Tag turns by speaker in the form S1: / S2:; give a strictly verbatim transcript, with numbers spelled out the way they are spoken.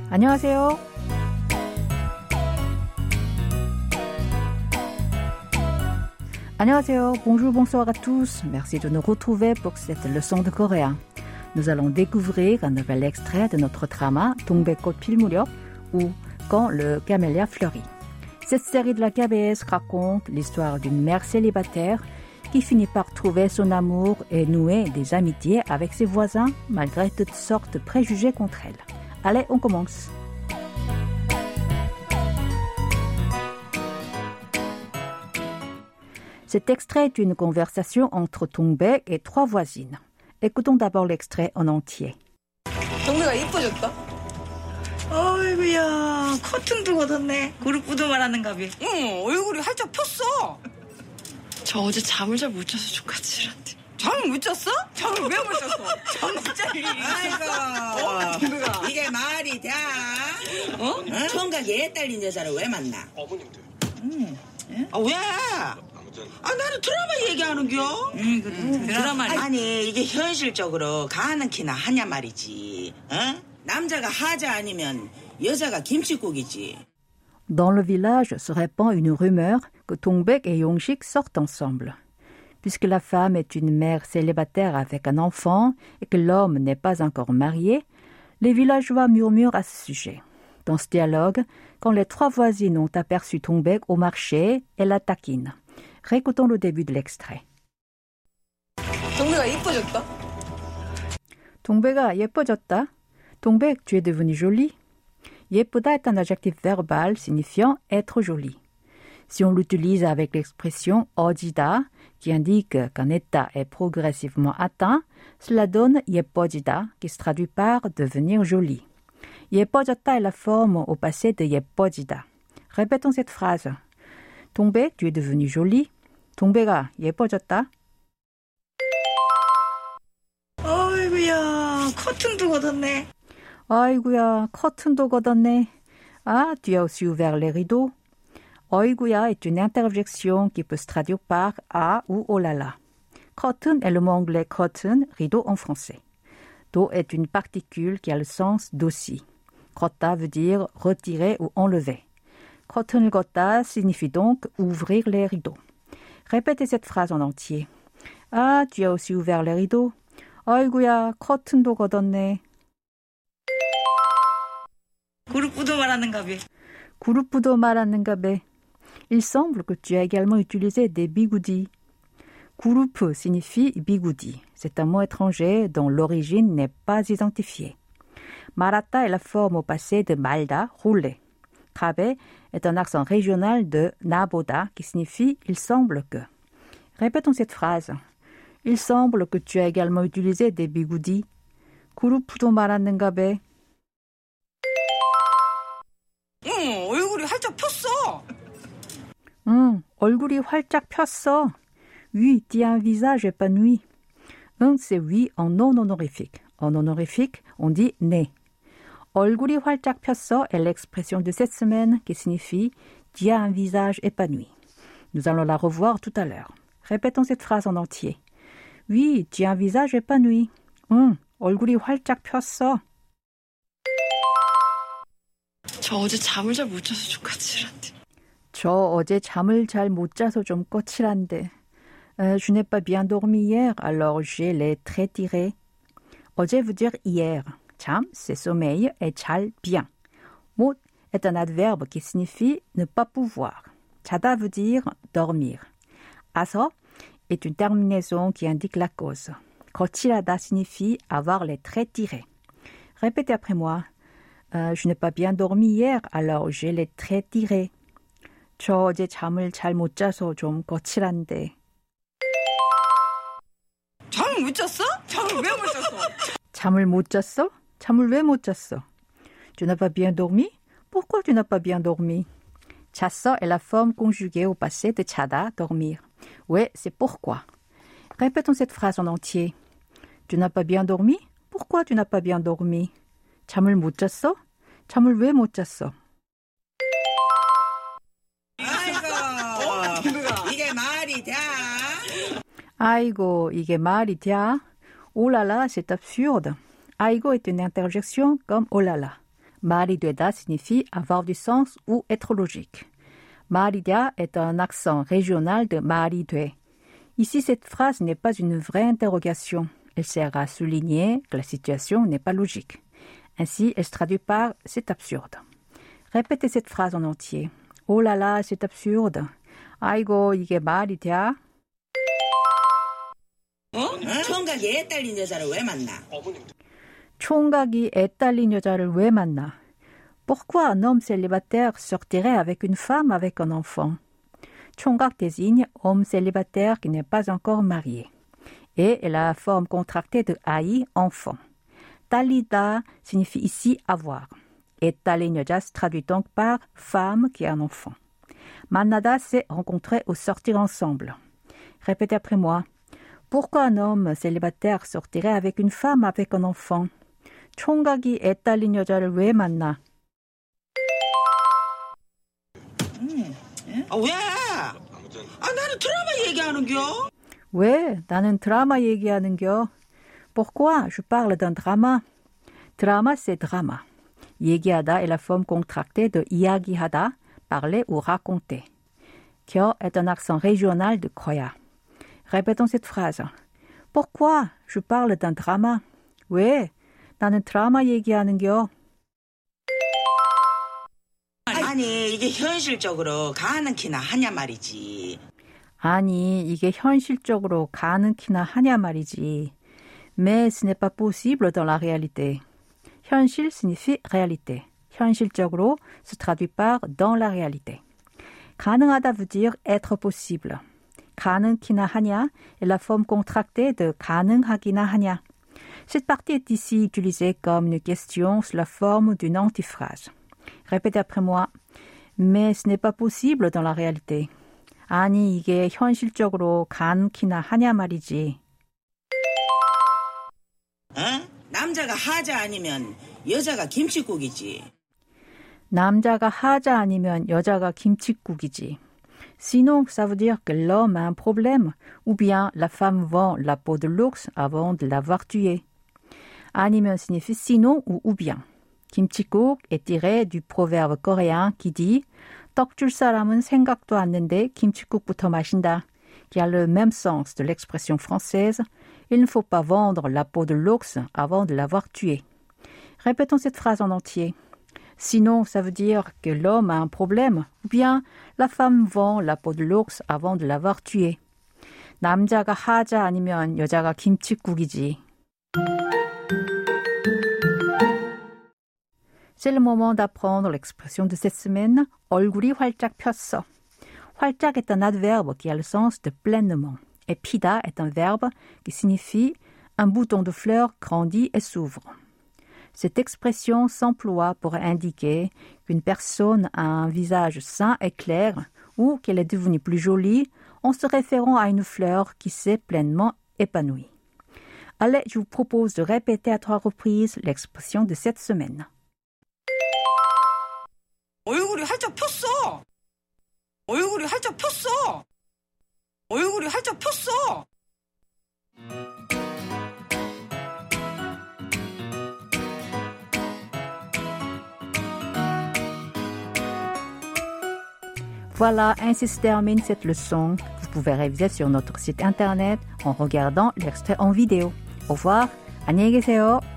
S1: 안녕하세요. 안녕하세요. Bonjour, bonsoir à tous. Merci de nous retrouver pour cette leçon de coréen. Nous allons découvrir un nouvel extrait de notre drama 동백꽃 필 무렵 ou Quand le camélia fleurit. Cette série de la K B S raconte l'histoire d'une mère célibataire qui finit par trouver son amour et nouer des amitiés avec ses voisins malgré toutes sortes de préjugés contre elle. Allez, on commence. Cet extrait est une conversation entre 동백 et trois voisines. Écoutons d'abord l'extrait en entier.
S2: 동백아 이뻐졌다.
S3: 어이구야 커튼도 걷었네. 그룹부도 말하는가 봐.
S2: 응 얼굴이 활짝 폈어.
S4: 저 어제 잠을 잘 못 자서 좀 까칠한데.
S2: 잠을 못 잤어? 잠을 왜 못 잤어? 잠자리.
S3: 아이고
S2: 어, 동백아.
S3: 이게 말이 돼?
S2: 어?
S3: 응? 총각 얘 딸린 여자를 왜 만나?
S5: 어머님들.
S3: 응.
S2: 아 왜?
S5: 아무튼
S2: 아 나는 드라마 얘기하는겨.
S3: 응 그래.
S2: 음, 드라마니.
S3: 아니 이게 현실적으로 가는 키나 하냐 말이지. 응? 남자가 하자 아니면 여자가 김치국이지.
S1: Dans le village se répand une rumeur que Dongbek et Yongshik sortent ensemble. Puisque la femme est une mère célibataire avec un enfant et que l'homme n'est pas encore marié, les villageois murmurent à ce sujet. Dans ce dialogue, quand les trois voisines ont aperçu Dongbek au marché, elles la taquinent. Récoutons le début de l'extrait.
S2: 동백아 이뻐졌다.
S1: 동백아 예뻐졌다. 동백, tu es devenu jolie. 예쁘다 est un adjectif verbal signifiant être jolie. Si on l'utilise avec l'expression 어지다, qui indique qu'un état est progressivement atteint, cela donne 예뻐지다, qui se traduit par devenir jolie. 예뻐졌다 est la forme au passé de 예뻐지다. Répétons cette phrase. 동백, tu es devenu jolie. 동백아, 예뻐졌다.
S3: 어이구야 커튼도 걷었네.
S1: 아이구야, 커튼도 걷었네. Ah, tu as aussi ouvert les rideaux. 어이구야 est une interjection qui peut se traduire par ah ou oh là là. Curtain est le mot anglais curtain, rideau en français. Do est une particule qui a le sens d'aussi. 걷다 veut dire retirer ou enlever. 커튼을 걷다 signifie donc ouvrir les rideaux. Répétez cette phrase en entier. Ah, tu as aussi ouvert les rideaux. 아이구야, 커튼도 걷었네.
S3: 그룹부도 말하는가 봐.
S1: 그룹부도 말하는가 봐. Il semble que tu as également utilisé des bigoudis. Groupe signifie bigoudi. C'est un mot étranger dont l'origine n'est pas identifiée. 말았다 est la forme au passé de 말다, rouler. 가베 est un accent régional de 나보다 qui signifie il semble que. Répétons cette phrase. Il semble que tu as également utilisé des bigoudis. 그룹부도 말하는가 봐.
S2: 응 얼굴이 활짝 폈어.
S1: 응, 얼굴이 활짝 폈어. Oui, tu as un visage épanoui. 응, c'est oui en non honorifique. En honorifique, on dit né. 얼굴이 활짝 폈어 est l'expression de cette semaine qui signifie tu as un visage épanoui. Nous allons la revoir tout à l'heure. Répétons cette phrase en entier. Oui, tu as un visage épanoui. 응, 얼굴이 활짝 폈어.
S4: 저 어제 잠을 잘 못 자서 좀 까칠한데.
S1: 저 어제 잠을 잘 못 자서 좀 거칠한데. Euh, je n'ai pas bien dormi hier, alors j'ai les traits tirés. 어제 veut dire hier. 잠, c'est sommeil, et 잘, bien. 못 est un adverbe qui signifie ne pas pouvoir. 자다 veut dire dormir. 아서 est une terminaison qui indique la cause. 거칠하다 signifie avoir les traits tirés. Répétez après moi. Euh, je n'ai pas bien dormi hier, alors j'ai les traits tirés. 저 어제 잠을 잘 못 자서 좀 거칠한데.
S2: 잠을 못 잤어? 잠을 왜 못 잤어?
S1: 잠을 못 잤어? 잠을 왜 못 잤어? Tu n'as pas bien dormi? Pourquoi tu n'as pas bien dormi? 잤어 est la forme conjuguée au passé de 자다, dormir. Ouais, c'est pourquoi. Répétons cette phrase en entier. Tu n'as pas bien dormi? Pourquoi tu n'as pas bien dormi? 잠을 못 잤어? 잠을 왜 못 잤어?
S3: 아이고 이게 말이 돼?
S1: 아이고, 이게 말이 돼? Oh là là, c'est absurde. Aigo est une interjection comme oh là là. 말이 되다 signifie avoir du sens ou être logique. 말이랴 est un accent régional de 말이 돼. Ici, cette phrase n'est pas une vraie interrogation. Elle sert à souligner que la situation n'est pas logique. Ainsi, elle se traduit par « c'est absurde ». Répétez cette phrase en entier. « Oh là là, c'est absurde. 아이고, 이게 말이 돼? »
S3: 어? 총각이 애 딸린 여자를 왜 만나?
S1: 총각이 애 딸린 여자를 왜 만나? Pourquoi un homme célibataire sortirait avec une femme avec un enfant? 총각 désigne homme célibataire qui n'est pas encore marié. Et est la forme contractée de 아이, enfant. 딸리다 signifie ici avoir. 애 딸린 여자 se traduit donc par femme qui a un enfant. 만나다, c'est rencontrer ou sortir ensemble. Répétez après moi. Pourquoi un homme célibataire sortirait avec une femme avec un enfant? 총각이 애 딸린 여자를 왜 만나?
S3: 음, 아, 왜? 아, 나는 드라마 얘기하는겨.
S1: 왜? 나는 드라마 얘기하는겨. Pourquoi? Je parle d'un drama. Drama, c'est drama. 얘기하다 est la forme contractée de 이야기하다, parler ou raconter. 겨 est un accent régional de 거야. Répétons cette phrase. Pourquoi? Je parle d'un drama. 왜? 나는 드라마 얘기하는겨.
S3: 아니, 이게 현실적으로 가능키나 하냐 말이지.
S1: 아니, 이게 현실적으로 가능키나 하냐 말이지. Mais ce n'est pas possible dans la réalité. 현실 signifie réalité. 현실적으로 se traduit par dans la réalité. 가능하다 veut dire être possible. 가능키나 하냐 est la forme contractée de 가능하기나 하냐. Cette partie est ici utilisée comme une question sous la forme d'une antiphrase. Répétez après moi. Mais ce n'est pas possible dans la réalité. 아니, 이게 현실적으로 가능키나 하냐 말이지.
S3: 어? 남자가 하자 아니면 여자가 김칫국이지.
S1: 남자가 하자 아니면 여자가 김칫국이지. Sinon, ça veut dire que l'homme a un problème, ou bien la femme vend la peau de l'ours avant de l'avoir tué. 아니면 signifie sinon ou ou bien. 김칫국 est tiré du proverbe coréen qui dit 떡 줄 사람은 생각도 않는데 김칫국부터 마신다, qui a le même sens de l'expression française il ne faut pas vendre la peau de l'ours avant de l'avoir tué. Répétons cette phrase en entier. Sinon, ça veut dire que l'homme a un problème, ou bien la femme vend la peau de l'ours avant de l'avoir tué. 남자가 하자 아니면 여자가 김칫국이지. C'est le moment d'apprendre l'expression de cette semaine. 얼굴이 활짝 폈어. 활짝 est un adverbe qui a le sens de pleinement. Et 피다 est un verbe qui signifie un bouton de fleur grandit et s'ouvre. Cette expression s'emploie pour indiquer qu'une personne a un visage sain et clair ou qu'elle est devenue plus jolie en se référant à une fleur qui s'est pleinement épanouie. Allez, je vous propose de répéter à trois reprises l'expression de cette semaine.
S2: 얼굴이 활짝 폈어. 얼굴이 활짝 폈어. 얼굴이 활짝 폈어.
S1: Voilà, ainsi se termine cette leçon. Vous pouvez réviser sur notre site internet en regardant l'extrait en vidéo. Au revoir, 안녕히 계세요.